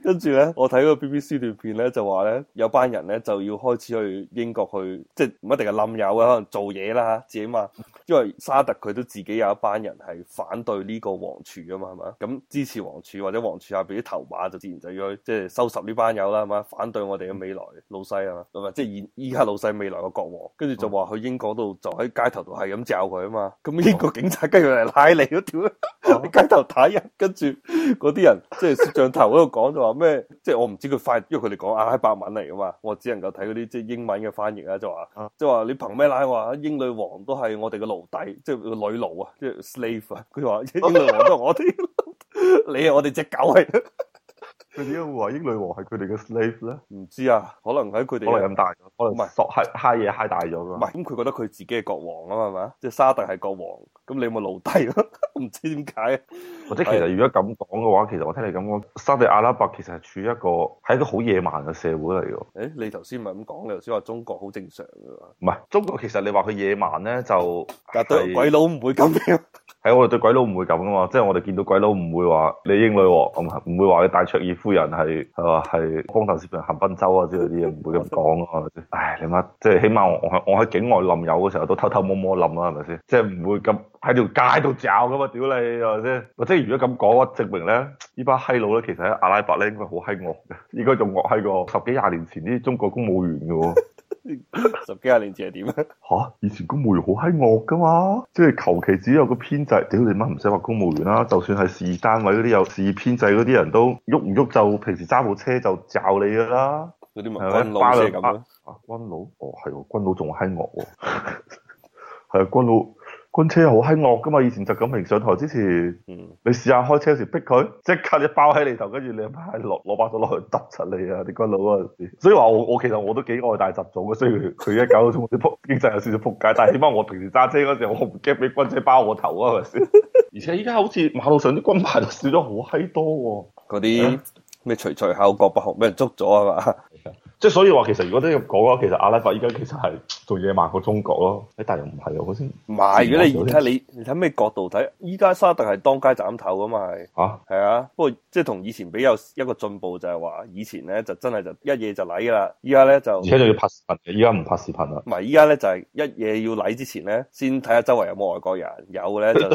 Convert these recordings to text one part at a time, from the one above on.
跟住咧，我睇個 BBC 段片咧，就話咧有班人咧就要開始去英國去，即係唔一定係冧友啊，可能做嘢啦自己嘛。因為沙特佢都自己有一班人係反對呢個王儲啊嘛，係嘛？咁支持王儲或者王儲下邊啲頭馬就自然就要去即係收拾呢班友啦，係嘛？反對我哋嘅未來老細啊嘛，咁啊即係依家老細未來嘅國王，跟住就話去英國度就喺街頭度係咁罩佢啊嘛。咁英國警察跟住嚟拉你嗰條喺街頭打人，跟住嗰啲人即係攝像頭嗰度講就話咩？即係我唔知佢翻，因為佢哋講阿拉伯文嚟噶嘛，我只能夠睇嗰啲即係英文嘅翻譯啦，就話即係話你憑咩拉我話英女王都係我哋嘅奴隸，即係女奴啊，即係 slave 啊。佢話英女王都係我哋，你係我哋隻狗嚟。 佢點解會話英女王係佢哋嘅 slave 咧？ 唔知啊，可能喺佢哋可能咁大咗，可能唔係索嗨嘢嗨大咗㗎。 唔係咁，佢覺得佢自己係國王啊嘛，係嘛？即係沙特係國王，咁你咪奴隸咯？唔知點解。 或者其實如果咁講嘅話，其實我聽你咁講，沙特阿拉伯其實係處於一個好野蠻嘅社會嚟㗎。 誒，你頭先咪咁講，你頭先話中國好正常㗎嘛？ 唔係中國，其實你話佢野蠻咧，就但係對鬼佬唔會咁樣。 係我哋對鬼佬唔會咁噶嘛，即係我哋見到鬼佬唔會話你英女王唔會話你戴卓爾夫人係光頭攝人行賓州啊之類啲嘢，唔會咁講啊，係咪先？唉，你媽即係起碼我喺境外冧友嘅時候都偷偷摸摸冧啦，係咪先？即係唔會咁喺條街度嚼噶嘛，屌你係咪先？或者如果咁講，證明咧呢班閪佬咧，其實喺阿拉伯咧應該好閪惡嘅，應該仲惡閪過十幾廿年前啲中國公務員嘅喎。 十幾廿年前係點啊？ 吓，以前公務員好閪惡噶嘛，即係求其只有個編制，屌你媽唔使話公務員啦，就算係事業單位嗰啲有事業編制嗰啲人都喐唔喐就平時揸部車就罩你噶啦， 嗰啲咪軍佬先係咁咯。 軍佬，哦係喎，軍佬仲閪惡喎，係啊，軍佬。軍車好閪惡噶嘛，以前習近平上台之前，你試下開車時逼佢，即刻一包喺你頭，跟住你阿媽攞把手落去揼柒你啊！啲軍佬嗰陣時，所以話我其實我都幾愛戴習總嘅，雖然佢一搞到中國啲經濟有少少撲街，但係起碼我平時揸車嗰時候，我唔驚俾軍車包我頭啊，係咪先？而且依家好似馬路上啲軍牌就少咗好閪多喎， 嗰啲咩隨隨口國不紅俾人捉咗啊嘛？ 即係所以話，其實如果都咁講嘅話，其實阿拉伯依家其實係做野蠻過中國咯。但又唔係啊，好似唔係。如果你睇咩角度睇，依家沙特係當街斬頭噶嘛係。係啊，不過即係同以前比有一個進步就係話，以前咧就真係就一嘢就禮噶啦，依家咧就而且仲要拍視頻嘅，依家唔拍視頻啦。 唔係，依家咧就係一嘢要禮之前咧，先睇下周圍有冇外國人，有咧就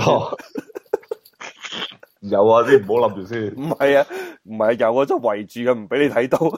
有啊，你唔好諗住先。 唔係啊，唔係有啊，就圍住嘅，唔俾你睇到。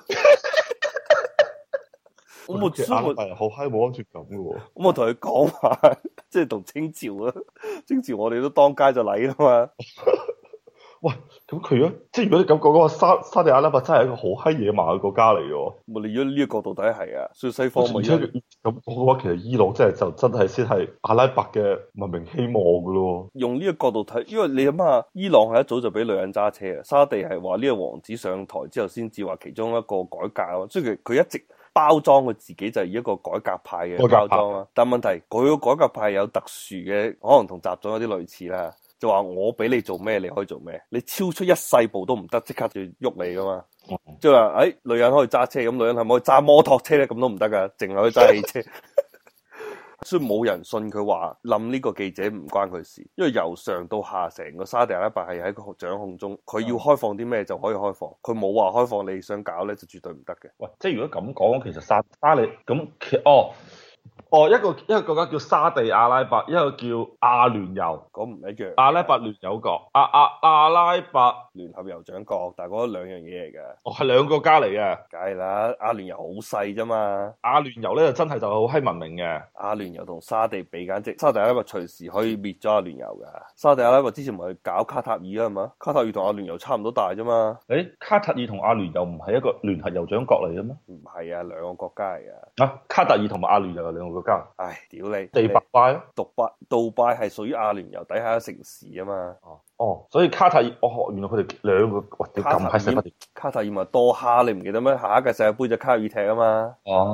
我冇知，我好閪冇安全感嘅喎。 咁我同佢講話，即係同清朝啊，清朝我哋都當街就禮啦嘛。 喂，咁佢即係如果你咁講嘅話，沙地阿拉伯真係一個好閪野蠻嘅國家嚟嘅喎。 我哋如果呢個角度睇係啊，所以西方咪咁講嘅話，其實伊朗真係先係阿拉伯嘅文明希望嘅咯。 用呢個角度睇，因為你諗下，伊朗係一早就俾女人揸車啊，沙地係話呢個王子上台之後先至話其中一個改革啊，所以佢一直包裝佢自己就係以一個改革派嘅包裝啊。但問題佢個改革派有特殊嘅，可能同習總有啲類似啦。就話我俾你做咩，你可以做咩，你超出一細步都唔得，即刻就喐你噶嘛。即係話，女人可以揸車，咁女人係咪可以揸摩托車咧？咁都唔得噶，淨係可以揸汽車。所以冇人信佢話冧呢個記者唔關佢事，因為由上到下成個沙地阿拉伯係喺佢掌控中，佢要開放啲咩就可以開放，佢冇話開放你想搞咧就絕對唔得嘅。 喂，即係如果咁講，其實沙地咁一個國家叫沙地阿拉伯，一個叫阿聯酋， 講唔一樣。 阿拉伯聯酋國，阿拉伯聯合酋長國，但係嗰兩樣嘢嚟嘅。 係兩個國家嚟嘅。 梗係啦，阿聯酋好細啫嘛。 阿聯酋咧就真係就好閪文明嘅。 阿聯酋同沙地比簡直，沙地阿拉伯隨時可以滅咗阿聯酋噶。沙地阿拉伯之前咪去搞卡塔爾啊嘛，卡塔爾同阿聯酋差唔多大啫嘛。 卡塔爾同阿聯酋唔係一個聯合酋長國嚟嘅咩？ 唔係啊，兩個國家嚟噶。 卡塔爾同埋阿聯酋係兩個國家。 唉，屌你！ 迪拜咯， 杜拜係屬於阿聯酋底下嘅城市啊嘛。 所以卡塔爾，原來佢哋兩個，哇，咁閪細。 卡塔爾咪多哈，你唔記得咩？下一屆世界盃就卡塔爾踢啊嘛。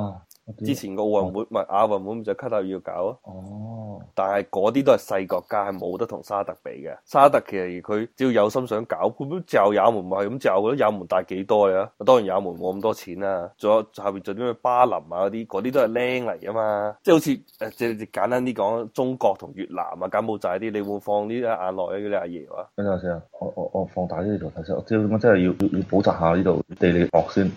之前個奧運會唔係亞運會，咪就卡塔爾要搞啊。 哦， 但係嗰啲都係細國家，係冇得同沙特比嘅。沙特其實佢只要有心想搞，佢都就也門咪係咁就嘅，也門大幾多啊？當然也門冇咁多錢啦。仲有下邊仲有啲咩巴林啊嗰啲都係靚嚟噶嘛。即係好似即係簡單啲講，中國同越南啊、柬埔寨啲，你會放呢啲眼內嘅啲阿爺啊？ 等陣先啊，我放大呢度睇先，我知道咁真係要補習下呢度地理學先。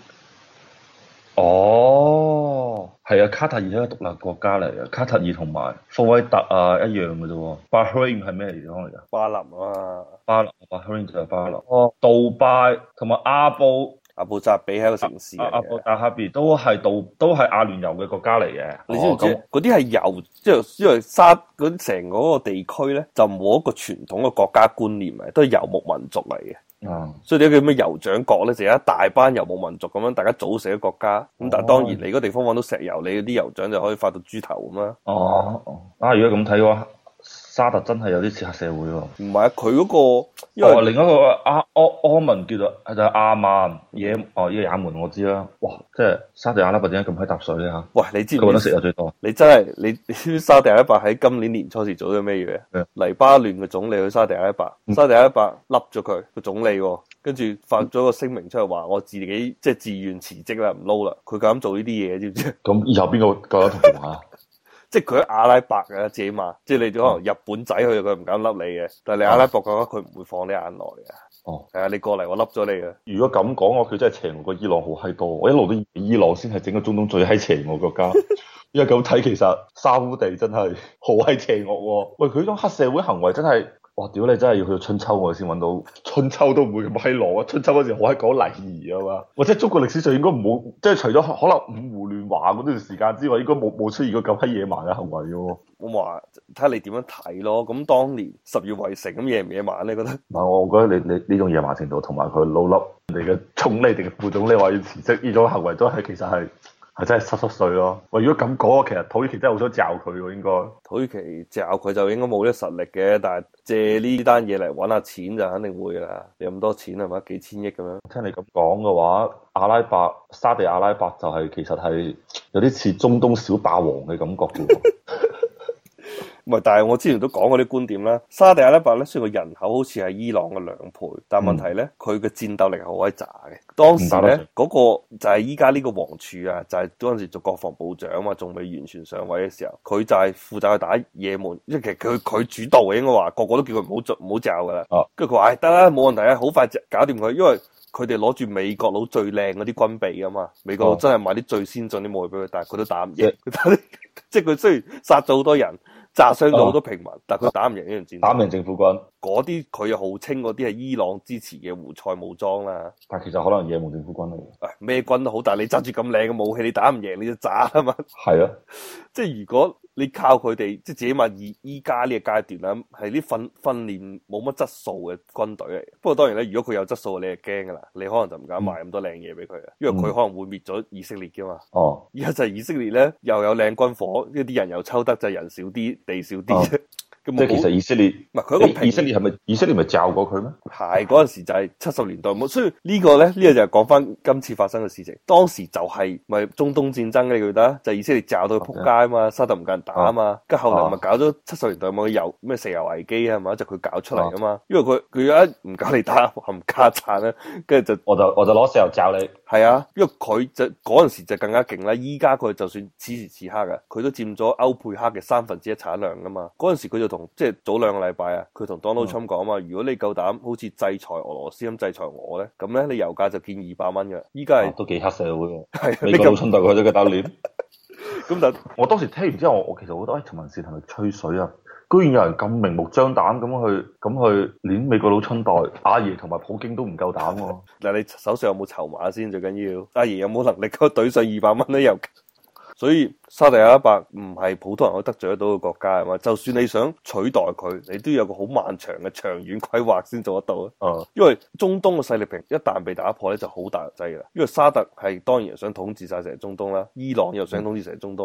哦，係啊，卡塔爾係一個獨立國家嚟嘅，卡塔爾同埋科威特啊一樣嘅啫喎。巴哈林係咩地方嚟㗎？ 巴林啊， 巴哈林就係巴林。哦，杜拜同埋阿布扎比係一個城市嚟嘅。 阿布達哈比都係阿聯酋嘅國家嚟嘅。 你知唔知嗰啲係由即係因為成嗰個地區咧，就冇一個傳統嘅國家觀念嘅，都係游牧民族嚟嘅。所以啲叫咩酋長國咧，就有一大班游牧民族咁樣，大家組成一個國家。咁但係當然你嗰地方揾到石油，你啲酋長就可以發到豬頭咁啦。 如果咁睇嘅話，沙特真係有啲似黑社會喎。 唔係啊，佢嗰個因為另一個阿曼叫做就係阿曼呢個也門我知啦。哇，即係沙特阿拉伯點解咁閪搭水咧嚇？ 喂，你知唔知？ 佢揾得石油最多。 你真係你知沙特阿拉伯喺今年年初時做咗咩嘢？黎巴嫩嘅總理去沙特阿拉伯，沙特阿拉伯笠咗佢個總理，跟住發咗個聲明出嚟話我自己即係自願辭職啦，唔撈啦。佢敢做呢啲嘢，知唔知？ 咁以後邊個夠膽同佢玩啊？ 即係佢喺阿拉伯嘅，自己嘛，即係你可能日本仔去，佢唔敢笠你嘅。但係你阿拉伯嘅話，佢唔會放你眼內嘅。係啊，你過嚟我笠咗你嘅。 如果咁講，我佢真係邪惡過伊朗好閪多。我一路都以為伊朗先係整個中東最閪邪惡國家。因為咁睇，其實沙烏地真係好閪邪惡。喂，佢種黑社會行為真係。哇！屌你真係要去到春秋我先揾到，春秋都唔會咁閪狼啊！春秋嗰時好閪講禮儀啊嘛，或者中國歷史上應該冇，即係除咗可能五胡亂華嗰段時間之外，應該冇出現過咁閪野蠻嘅行為嘅喎。 我話睇下你點樣睇咯。咁當年十月圍城咁野唔野蠻你覺得？ 唔係，我覺得你呢種野蠻程度同埋佢老笠人哋嘅總理定嘅副總理話要辭職呢種行為都係其實係真係濕碎咯。喂，如果咁講，其實土耳其真係好想罩佢喎，應該。土耳其罩佢就應該冇呢個實力嘅，但係借呢單嘢嚟揾下錢就肯定會啦。你咁多錢係咪？幾千億咁樣？ 聽你咁講嘅話，沙地阿拉伯就係其實係有啲似中東小霸王嘅感覺嘅。 唔係，但係我之前都講過啲觀點啦。沙地阿拉伯咧，雖然個人口好似係伊朗嘅2倍，但係問題咧，佢嘅戰鬥力係好鬼渣嘅。當時咧，嗰個就係依家呢個王儲啊，就係嗰陣時做國防部長啊嘛，仲未完全上位嘅時候，佢就係負責去打也門，因為其實佢主導嘅，應該話個個都叫佢唔好罩噶啦。跟住佢話：得啦，冇問題啊，好快就搞掂佢，因為佢哋攞住美國佬最靚嗰啲軍備噶嘛，美國佬真係買啲最先進啲武器俾佢，但係佢都打唔贏。即係佢雖然殺咗好多人。炸傷咗好多平民，但係佢打唔贏呢場戰， 打唔贏政府軍。 嗰啲佢又號稱嗰啲係伊朗支持嘅胡塞武裝啦。 但係其實可能也門政府軍嚟嘅。 咩軍都好，但係你揸住咁靚嘅武器，你打唔贏你就炸啊嘛。 係啊， 即係如果你靠佢哋，即係自己話依家呢個階段啦，係啲訓練冇乜質素嘅軍隊嚟。不過當然咧，如果佢有質素，你係驚噶啦，你可能就唔敢賣咁多靚嘢俾佢啊，因為佢可能會滅咗以色列噶嘛。而家就係以色列咧，又有靚軍火，呢啲人又抽得，就係人少啲，地少啲啫。 即係其實以色列唔係佢一個以色列係咪以色列咪罩過佢咩？ 係嗰陣時就係70年代，所以呢個就係講翻今次發生嘅事情。當時就係咪中東戰爭嘅，你記得？就係以色列罩到佢撲街啊嘛，沙特唔夠人打啊嘛，跟住後嚟咪搞咗70年代冇咩石油危機啊嘛，就佢搞出嚟啊嘛。因為佢一唔夠你打冚家鏟咧，跟住就我就攞石油罩你。係啊，因為佢就嗰陣時就更加勁啦。依家佢就算此時此刻嘅，佢都佔咗歐佩克嘅1/3產量噶嘛。嗰陣時佢就即係早2個禮拜啊，佢同 Donald Trump 講啊嘛，如果你夠膽好似制裁俄羅斯咁制裁我咧，咁咧你油價就見200蚊嘅。依家係都幾黑社會喎，係美國佬衝突佢都嘅打臉。咁但我當時聽完之後，我其實覺得，陳文善係咪吹水啊？居然有人咁明目張膽咁去連美國佬春代，阿爺同埋普京都唔夠膽喎。嗱，你手上有冇籌碼先？最緊要阿爺有冇能力嗰懟上200蚊咧？又所以沙特阿拉伯唔係普通人可以得罪得到嘅國家係嘛？就算你想取代佢，你都有個好漫長嘅長遠規劃先做得到啊！因為中東嘅勢力平一旦被打破咧，就好大劑㗎啦。因為沙特係當然想統治晒成中東啦，伊朗又想統治成中東。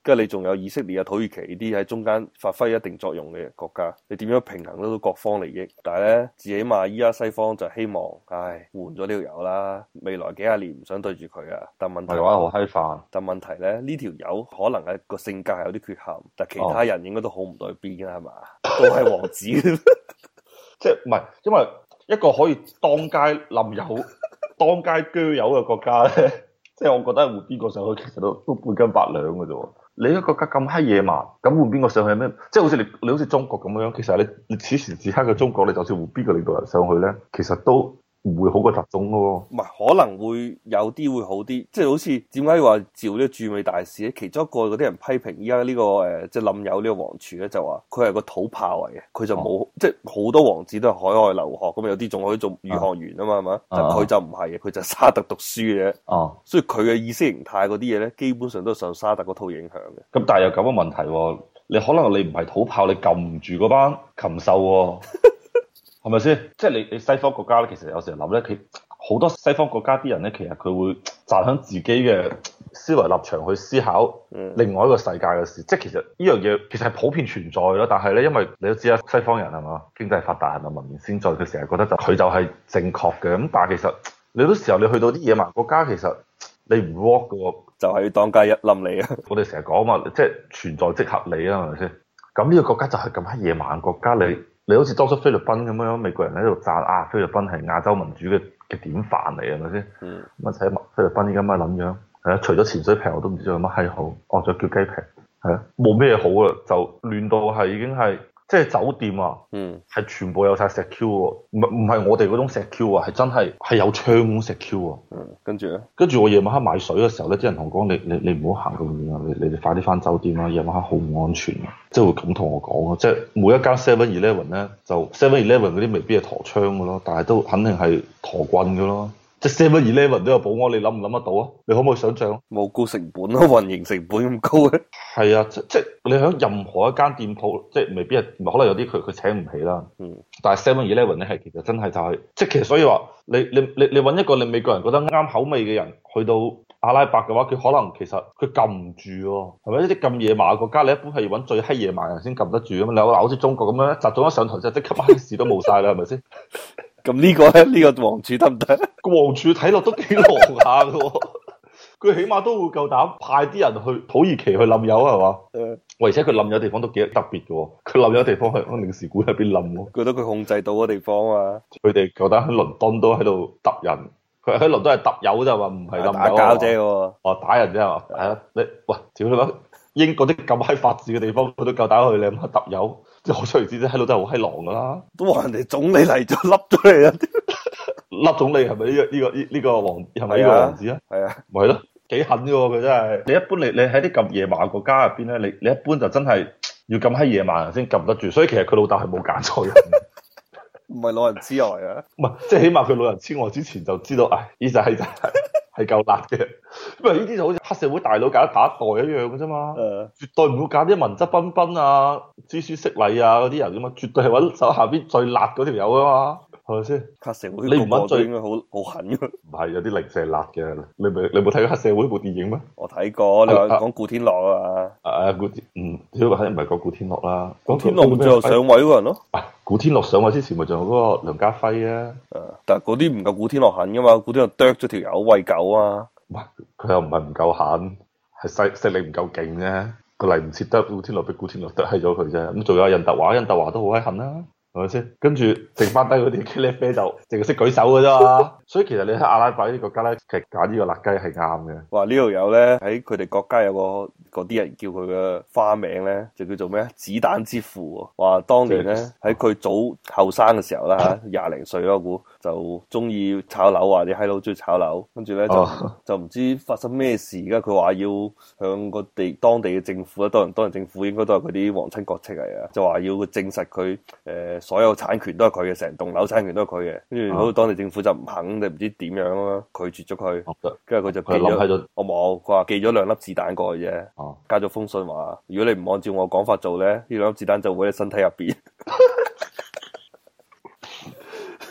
跟住你仲有以色列啊、土耳其呢啲喺中間發揮一定作用嘅國家，你點樣平衡得到各方利益？但係咧，至起碼依家西方就希望，唉，換咗呢條友啦，未來幾廿年唔想對住佢啊。但問題係話好閪煩。 但問題咧，呢條友可能係個性格係有啲缺陷，但其他人應該都好唔對邊嘅係嘛？都係王子。 即係唔係，因為一個可以當街冧友、當街鋸友嘅國家咧，即係我覺得換邊個上去，其實都半斤八兩嘅啫。你一個國家咁閪野蠻，咁換邊個上去咩？即係好似你好似中國咁樣，其實你此時此刻嘅中國，你就算換邊個領導人上去咧，其實都唔會好過習總咯。 唔係，可能會有啲會好啲，即係好似點解話召呢個駐美大使咧？其中一個嗰啲人批評依家呢個即係冧友呢個王儲咧，就話佢係個土炮嚟嘅，佢就冇即係好多王子都係海外留學，咁有啲仲可以做宇航員啊嘛，係嘛？但佢就唔係嘅，佢就沙特讀書嘅。哦，所以佢嘅意識形態嗰啲嘢咧，基本上都係受沙特嗰套影響嘅。 咁但係有咁嘅問題喎，你可能你唔係土炮，你撳唔住嗰班禽獸喎，係咪先？即係你西方國家咧，其實有時候諗咧，佢好多西方國家啲人咧，其實佢會站喺自己嘅思維立場去思考另外一個世界嘅事。即係其實呢樣嘢其實係普遍存在咯。但係咧，因為你都知啦，西方人係嘛，經濟發達係咪文明先進，佢成日覺得佢就係正確嘅。咁但係其實你好多時候你去到啲野蠻國家，其實你唔 work 嘅喎， 就係要當街一冧你啊！ 我哋成日講嘛，即係存在即合理啊，係咪先？咁呢個國家就係咁閪野蠻國家，你好似當初菲律賓咁樣，美國人喺度讚啊，菲律賓係亞洲民主嘅典範嚟，係咪先？咁啊睇菲律賓依家乜撚樣？係啊，除咗潛水平我都唔知有乜閪好，哦，仲叫雞平，係啊，冇咩好啦，就亂到係已經係。即係酒店啊，係全部有晒石 Q 喎，唔係我哋嗰種石 Q 啊，係真係有窗嗰種石 Q 啊。 跟住咧， 跟住我夜晚黑買水嘅時候咧，啲人同我講：你唔好行咁遠啊，你哋快啲翻酒店啦，夜晚黑好唔安全啊！即係會咁同我講啊，即係每一間 7-Eleven 咧，就 7-Eleven 嗰啲未必係陀槍嘅咯，但係都肯定係陀棍嘅咯。即係 7-Eleven 都有保安，你諗唔諗得到啊？你可唔可以想象？ 冇高成本咯，運營成本咁高嘅。 係啊，即係你喺任何一間店鋪，即係未必係，可能有啲佢請唔起啦。但係 7-Eleven 咧係其實真係就係，即係其實所以話你揾一個你美國人覺得啱口味嘅人去到阿拉伯嘅話，佢可能其實佢撳唔住喎，係咪？一啲咁野蠻嘅國家，你一般係要揾最閪野蠻人先撳得住啊嘛。你話好似中國咁樣，習總一上台就即刻乜事都冇晒啦，係咪先？ 咁呢個咧，呢個王儲得唔得？ 個王儲睇落都幾狼下嘅喎，佢起碼都會夠膽派啲人去土耳其去冧友係嘛？而且佢冧友地方都幾特別嘅喎，佢冧友地方喺領事館入邊冧喎。 覺得佢控制到嘅地方啊， 佢哋夠膽喺倫敦都喺度揼人，佢喺倫敦係揼友啫嘛，唔係冧友打交啫喎。 哦，打人啫嘛，係啊，你喂，屌你媽！英國啲咁閪法治嘅地方，佢都夠膽去，你諗下揼友，即係可想而知，喺度都係好閪狼噶啦。 都話人哋總理嚟咗，笠咗嚟啊！ 笠總理係咪呢個王係咪呢個王子啊？係啊，咪係咯，幾狠嘅喎佢真係。你一般你喺啲咁野蠻國家入邊咧，你一般就真係要咁閪野蠻人先撳得住，所以其實佢老豆係冇揀錯人。 唔係老人痴呆啊！ 唔係，即係起碼佢老人痴呆之前就知道，唉，呢仔係夠辣嘅。因為呢啲就好似黑社會大佬揀打一代一樣嘅啫嘛。絕對唔會揀啲文質彬彬啊、知書識禮啊嗰啲人噶嘛，絕對係揾手下邊最辣嗰條友啊嘛。係咪先？ 黑社會你唔揾最應該好狠嘅。唔係有啲零舍辣嘅，你冇睇過黑社會部電影咩？ 我睇過，你話講古天樂啊？ 古天主要係唔係講古天樂啦？ 古天樂最後上位嗰人咯。 古天樂上位之前咪仲有嗰個梁家輝啊？ 但係嗰啲唔夠古天樂狠噶嘛？古天樂啄咗條友餵狗啊！ 唔係佢又唔係唔夠狠，係勢力唔夠勁啫。佢嚟唔切得古天樂，俾古天樂啄閪咗佢啫。咁仲有任達華，任達華都好閪狠啦。係咪先？跟住剩翻低嗰啲茄喱啡就淨係識舉手嘅啫嘛。所以其實你喺阿拉伯呢啲國家咧，其實揀呢個辣雞係啱嘅。話呢度有咧喺佢哋國家有個嗰啲人叫佢嘅花名咧，就叫做咩？子彈之父。話當年咧喺佢早後生嘅時候啦嚇，20歲咯，我估就中意炒樓啊，啲閪佬中意炒樓，跟住咧就唔知發生咩事。而家佢話要向個當地嘅政府咧，當然政府應該都係佢啲皇親國戚嚟啊，就話要證實佢所有產權都係佢嘅，成棟樓產權都係佢嘅。跟住好似當地政府就唔肯，定唔知點樣啊，拒絕咗佢。跟住佢就寄咗，我冇，佢話寄咗2粒子彈過去啫。加咗封信話，如果你唔按照我講法做咧，呢2粒子彈就會喺身體入邊。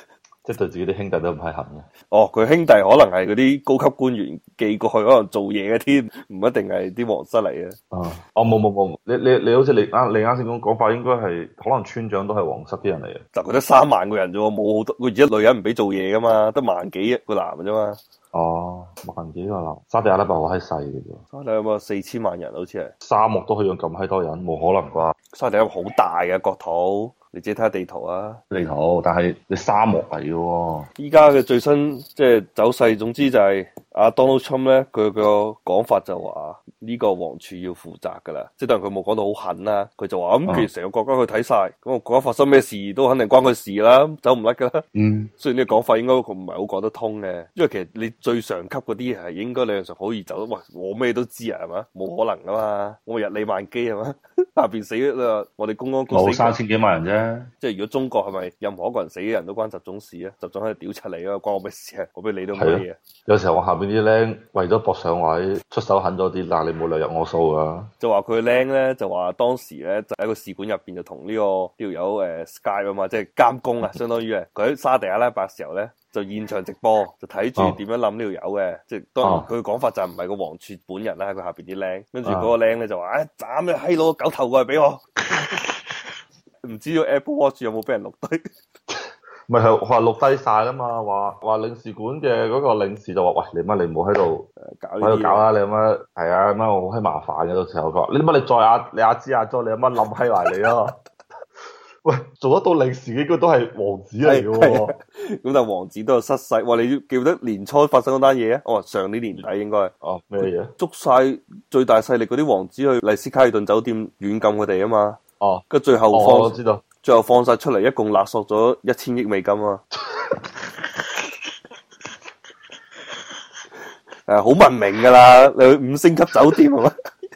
即係對自己啲兄弟都唔係痕嘅。 哦，佢兄弟可能係嗰啲高級官員寄過去，可能做嘢嘅添，唔一定係啲皇室嚟嘅。 啊，哦冇，你好似你啱先講法，應該係可能村長都係皇室啲人嚟嘅。 就佢得3萬個人啫喎，冇好多。佢而家女人唔俾做嘢噶嘛，得萬幾個男嘅啫嘛。 哦，萬幾個男，沙地阿拉伯好閪細嘅啫。 沙地阿拉伯4000萬人好似係。 沙漠都可以養咁閪多人，冇可能啩？ 沙地阿拉伯好大嘅國土。你自己睇下地圖啊！ 地圖，但係你沙漠嚟嘅喎。 依家嘅最新即係走勢，總之就係阿 Donald Trump 咧，佢個講法就話呢個王儲要負責噶啦。即係當然佢冇講到好狠啦，佢就話咁其實成個國家佢睇晒，咁個國家發生咩事都肯定關佢事啦，走唔甩噶啦。 嗯， 雖然呢個講法應該佢唔係好講得通嘅，因為其實你最上級嗰啲係應該理論上好易走。喂，我咩都知啊，係嘛？冇可能噶嘛，我日理萬機係嘛？下邊死啦，我哋公安局冇3000幾萬人啫。 即係如果中國係咪任何一個人死嘅人都關習總事啊？習總喺度屌柒你啊，關我咩事啊？我俾你都冇嘢。 有時候我下邊啲僆為咗搏上位，出手狠咗啲，嗱你冇理由入我數噶。就話佢僆咧，就話當時咧就喺個使館入邊就同呢個條友Skype 啊嘛，即係監工啊，相當於佢喺沙地阿拉伯時候咧就現場直播，就睇住點樣諗呢條友嘅。即係當然佢講法就唔係個王儲本人啦，佢下邊啲僆，跟住嗰個僆咧就話：斬你閪佬狗頭過嚟俾我！唔知道 Apple Watch 有冇俾人錄低？ 咪係話錄低晒啦嘛，話領事館嘅嗰個領事就話：喂，你唔好喺度搞啦，你乜係啊？乜我好閪麻煩嘅，到時候佢話：你乜你再你阿芝阿咗，你乜冧閪埋你啊？喂，做得到領事應該都係王子嚟嘅喎。 咁但係王子都有失勢。哇！你記得年初發生嗰單嘢啊？哦，上年年底應該。 哦，咩嘢？捉晒最大勢力嗰啲王子去麗思卡爾頓酒店軟禁佢哋啊嘛。 哦， 跟住最後我知道。 最後放晒出嚟，一共勒索咗1000億美金啊！好文明噶啦，你去5星級酒店係嘛？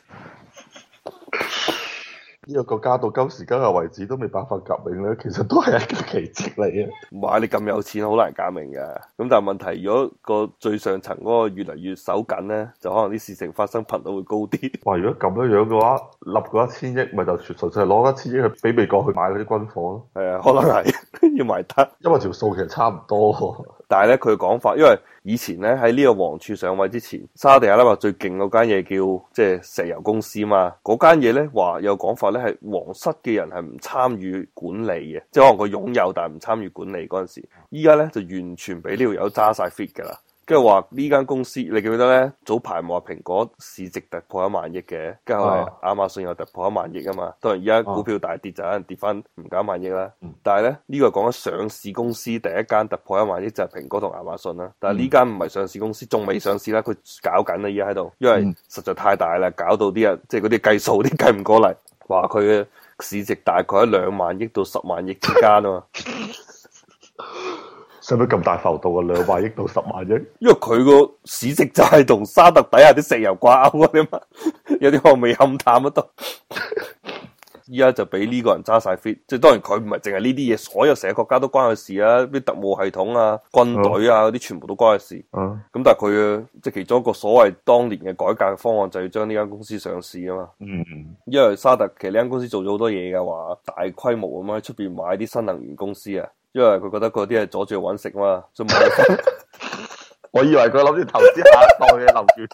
呢個國家到今時今日為止都未爆發革命咧，其實都係一個奇蹟嚟嘅。 唔係你咁有錢，好難革命嘅。咁但係問題，如果個最上層嗰個越嚟越手緊咧，就可能啲事情發生頻率會高啲。 哇！如果咁樣嘅話，立嗰1000億，咪就純粹係攞1000億去俾美國去買嗰啲軍火咯。 係啊，可能係要埋得， 因為條數其實差唔多。 但係咧，佢講法，因為以前咧喺呢個王儲上位之前，沙地阿拉伯最勁嗰間嘢叫即係石油公司嘛。嗰間嘢咧話有講法咧係皇室嘅人係唔參與管理嘅，即係可能佢擁有但係唔參與管理嗰陣時。依家咧就完全俾呢條友揸晒 fit 噶啦。跟住話呢間公司，你記唔記得咧？早排話蘋果市值突破1萬億嘅，跟住後嚟亞馬遜又突破1萬億啊嘛。當然而家股票大跌就可能跌翻唔夠1萬億啦。但係咧呢個講緊上市公司第一間突破1萬億就係蘋果同亞馬遜啦。但係呢間唔係上市公司，仲未上市啦，佢搞緊啦，而家喺度，因為實在太大啦，搞到啲人即係嗰啲計數啲計唔過嚟，話佢嘅市值大概喺2萬億到10萬億之間啊嘛。 使唔使咁大浮動啊？2萬億到10萬億？ 因為佢個市值就係同沙特底下啲石油掛鈎啊嘛，有啲可能未勘探得到。依家就俾呢個人揸晒 fit，即係當然佢唔係淨係呢啲嘢，所有成個國家都關佢事啊，啲特務系統啊、軍隊啊嗰啲全部都關佢事。咁但係佢即係其中一個所謂當年嘅改革方案，就要將呢間公司上市啊嘛。因為沙特其實呢間公司做咗好多嘢嘅話，大規模咁樣喺出邊買啲新能源公司啊。因為佢覺得嗰啲係阻住佢搵食嘛，所以冇。 我以為佢諗住投資下一代嘅能源，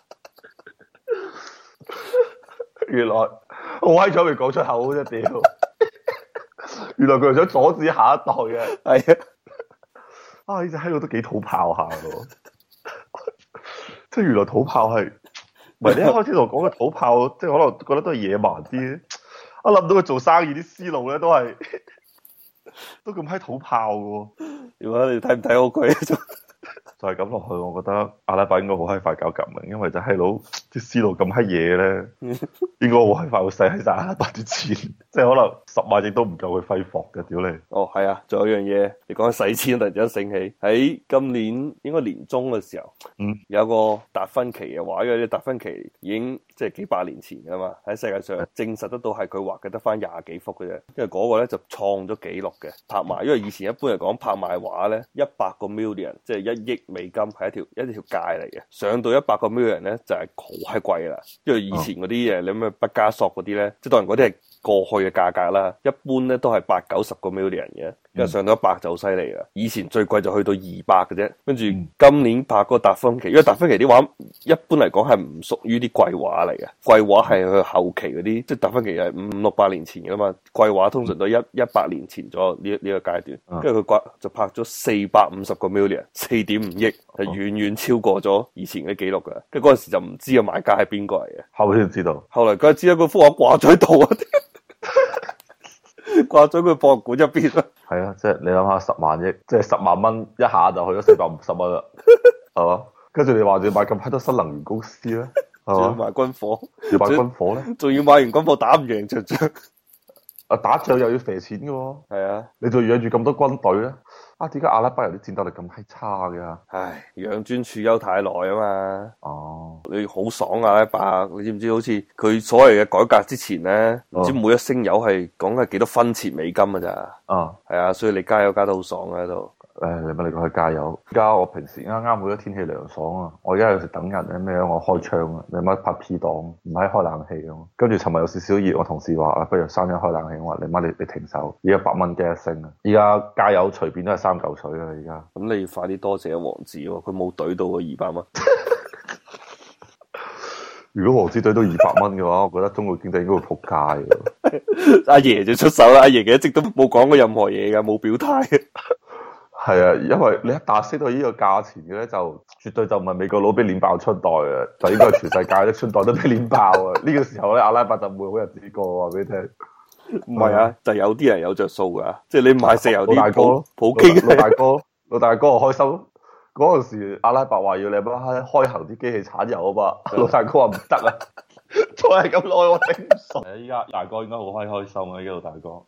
原來我閪彩未講出口啫屌！原來佢係想阻止下一代嘅， 係啊！呢隻閪佬都幾土炮下咯，即係原來土炮係，唔係你一開始同我講嘅土炮，即係可能覺得都係野蠻啲，我諗到佢做生意啲思路咧都係。都咁閪土炮嘅， 如果你睇唔睇好佢？ 就係咁落去，我覺得阿拉伯應該好閪快搞革命，因為就閪佬啲思路咁閪嘢咧，應該好閪快會使喺晒阿拉伯啲錢，即係可能10萬億都唔夠佢揮霍嘅，屌你！ 哦，係啊，仲有一樣嘢，你講起使錢，突然之間醒起，喺今年應該年中嘅時候，有個達芬奇嘅畫，因為啲達芬奇已經即係幾百年前噶嘛，喺世界上證實得到係佢畫嘅得翻20幾幅嘅啫，因為嗰個咧就創咗紀錄嘅拍賣，因為以前一般嚟講拍賣畫咧100個 million， 即係1億美金係一條界嚟嘅，上到100個 million 咧就係好閪貴啦，因為以前嗰啲嘢你咩畢加索嗰啲咧，即係當然嗰啲係過去嘅價格啦，一般咧都係80-90個 million 嘅， 跟住上到100就好犀利啦。以前最貴就去到200嘅啫，跟住今年拍嗰個達芬奇，因為達芬奇啲畫一般嚟講係唔屬於啲貴畫嚟嘅，貴畫係佢後期嗰啲，即係達芬奇係500-600年前嘅嘛，貴畫通常都100年前左右呢個階段，跟住佢就拍咗450個 million， 4.5億，係遠遠超過咗以前嘅紀錄嘅。跟住嗰陣時就唔知個買家係邊個嚟嘅， 後尾先知道， 後嚟梗係知啦，嗰幅畫掛咗喺度啊，掛咗佢博物館入邊啦。 係啊，即係你諗下10萬億，即係10萬蚊一下就去咗450蚊啦，係嘛？跟住你話要買咁多新能源公司咧， 仲要買軍火， 要買軍火咧， 仲要買完軍火打唔贏場仗， 啊打仗又要蝕錢嘅喎， 係啊， 你仲養住咁多軍隊咧？啊，點解阿拉伯人啲戰鬥力咁閪差嘅？ 唉，養尊處優太耐啊嘛。 哦， 你好爽啊！阿拉伯，你知唔知好似佢所謂嘅改革之前咧，唔知每一升油係講係幾多分錢美金啊咋？係啊，所以你加油加得好爽啊喺度。 誒，你咪你講去加油。而家我平時啱啱好咗天氣涼爽啊，我而家有時等人咧咩我開窗啊，你乜拍 P 檔，唔係開冷氣咁。跟住尋日有少少熱，我同事話啊，不如閂咗開冷氣。我話你媽你停手，而家100蚊嘅一升啊！而家加油隨便都係3嚿水啊！而家咁你要快啲多謝王子喎，佢冇懟到個200蚊。 如果王子懟到200蚊嘅話，我覺得中國經濟應該會仆街嘅。 阿爺就出手啦，阿爺嘅一直都冇講過任何嘢㗎，冇表態。 係啊，因為你一打升到呢個價錢嘅咧，就絕對就唔係美國佬俾鏈爆春袋啊，就應該係全世界啲春袋都俾鏈爆啊！呢個時候咧，阿拉伯就唔會好日子過，話俾你聽。 唔係啊，就有啲人有着數噶，即係你買石油啲老大哥， 普京老大哥我開心。嗰陣時阿拉伯話要你乜開行啲機器產油啊嘛，老大哥話唔得啊，再係咁耐我頂唔順。依家大哥應該好開心啊，依家老大哥。